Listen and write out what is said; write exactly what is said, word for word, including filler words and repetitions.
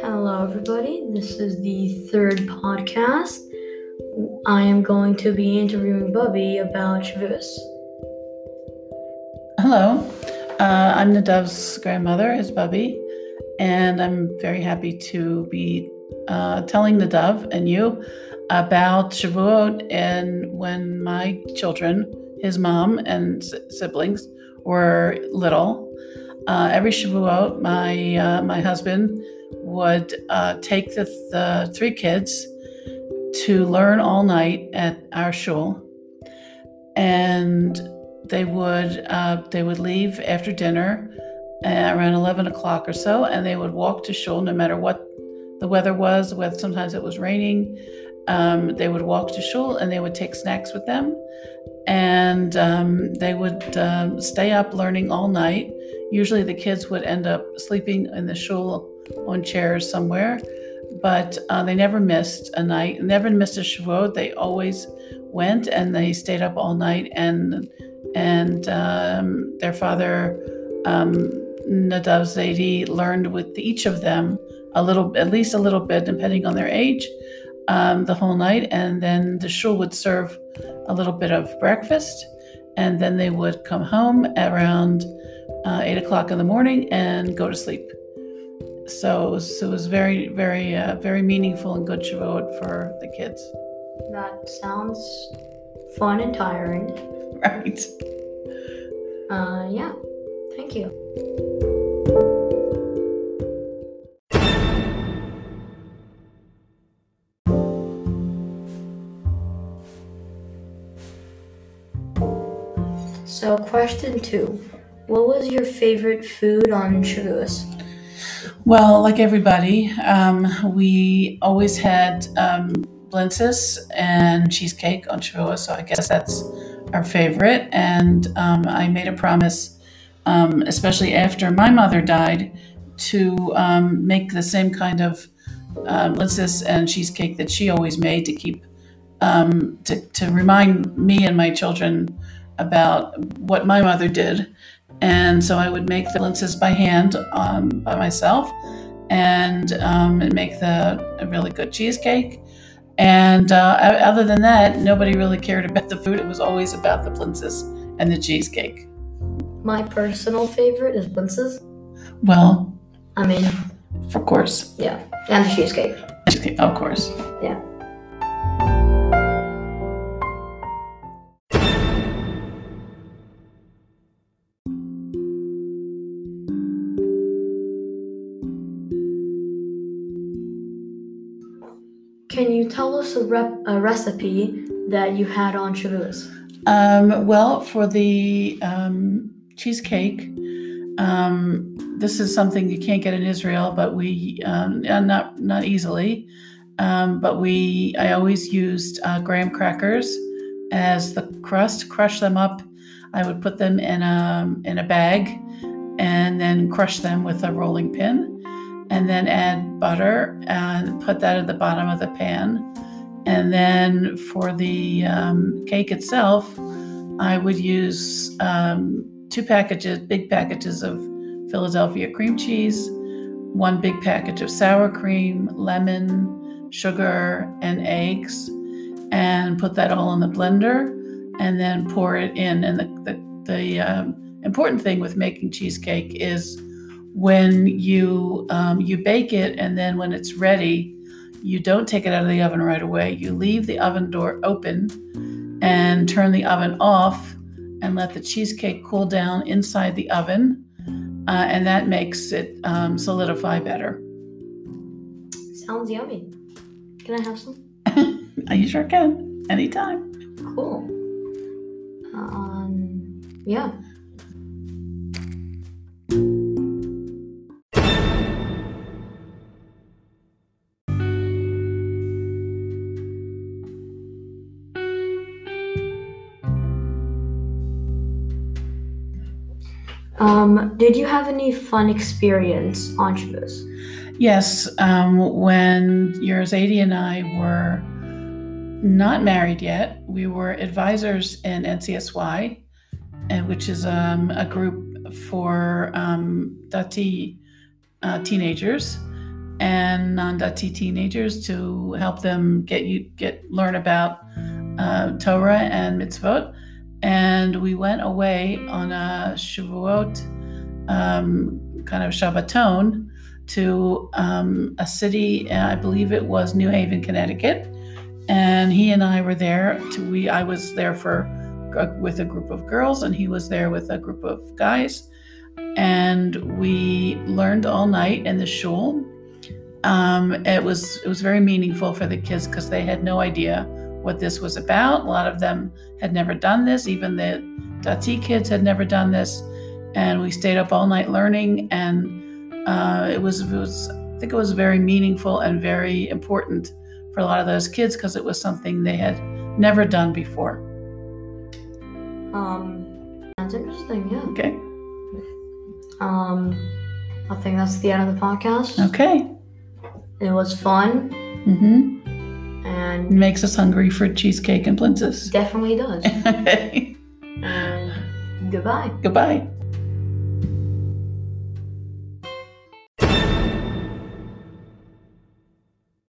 Hello, everybody. This is the third podcast. I am going to be interviewing Bubby about Shavuos. Hello, uh, I'm Nadav's grandmother, is Bubby, and I'm very happy to be uh, telling Nadav and you about Shavuot and when my children, his mom and s- siblings, were little. Uh, every Shavuot, my uh, my husband would uh, take the, the three kids to learn all night at our shul, and they would uh, they would leave after dinner uh, around eleven o'clock or so, and they would walk to shul no matter what the weather was. Whether sometimes it was raining, um, they would walk to shul and they would take snacks with them, and um, they would um, stay up learning all night. Usually, the kids would end up sleeping in the shul on chairs somewhere, but uh, they never missed a night, never missed a Shavuot. They always went and they stayed up all night, and and um, their father, um, Nadav Zaidi, learned with each of them a little, at least a little bit, depending on their age, um, the whole night. And then the shul would serve a little bit of breakfast, and then they would come home around uh, eight o'clock in the morning and go to sleep. So it was, it was very, very, uh, very meaningful and good Shavuot for the kids. That sounds fun and tiring. Right. Uh, yeah. Thank you. So, question two. What was your favorite food on Shavuos? Well, like everybody, um, we always had um, blintzes and cheesecake on Shavuot, so I guess that's our favorite. And um, I made a promise, um, especially after my mother died, to um, make the same kind of um, blintzes and cheesecake that she always made to keep um, to, to remind me and my children about what my mother did. And so I would make the blintzes by hand um, by myself, and um, and make the a really good cheesecake. And uh, o- other than that, nobody really cared about the food. It was always about the blintzes and the cheesecake. My personal favorite is blintzes. Well, I mean, of course, yeah, and the cheesecake. cheesecake, of course. Yeah. Can you tell us a, rep- a recipe that you had on Shavuos? Um, well, for the um, cheesecake, um, this is something you can't get in Israel, but we um, uh, not not easily. Um, but we I always used uh, graham crackers as the crust. Crush them up. I would put them in a in a bag, and then crush them with a rolling pin, and then add butter and put that at the bottom of the pan. And then for the um, cake itself, I would use um, two packages, big packages of Philadelphia cream cheese, one big package of sour cream, lemon, sugar, and eggs, and put that all in the blender, and then pour it in. And the the, the um, important thing with making cheesecake is when you um, you bake it, and then when it's ready, you don't take it out of the oven right away. You leave the oven door open and turn the oven off and let the cheesecake cool down inside the oven, uh, and that makes it um, solidify better. Sounds yummy. Can I have some? You sure can, anytime. Cool. Um, yeah. Um, did you have any fun experience on Shavuos? Yes, um, when yours Zadie and I were not married yet, we were advisors in N C S Y, and which is um, a group for um, Dati uh, teenagers. and non-Dati teenagers to help them get you get learn about uh, Torah and mitzvot. And we went away on a Shavuot um, kind of Shabbaton to um, a city, I believe it was New Haven, Connecticut. And he and I were there. To, we I was there for with a group of girls, and he was there with a group of guys. And we learned all night in the shul. Um, it was it was very meaningful for the kids because they had no idea what this was about. A lot of them had never done this. Even the Dati kids had never done this. And we stayed up all night learning, and uh, it was it was I think it was very meaningful and very important for a lot of those kids because it was something they had never done before. Um, that's interesting, yeah. Okay. Um, I think that's the end of the podcast. Okay. It was fun. Mm-hmm. And it makes us hungry for cheesecake and blintzes. Definitely does. Okay. And goodbye. Goodbye.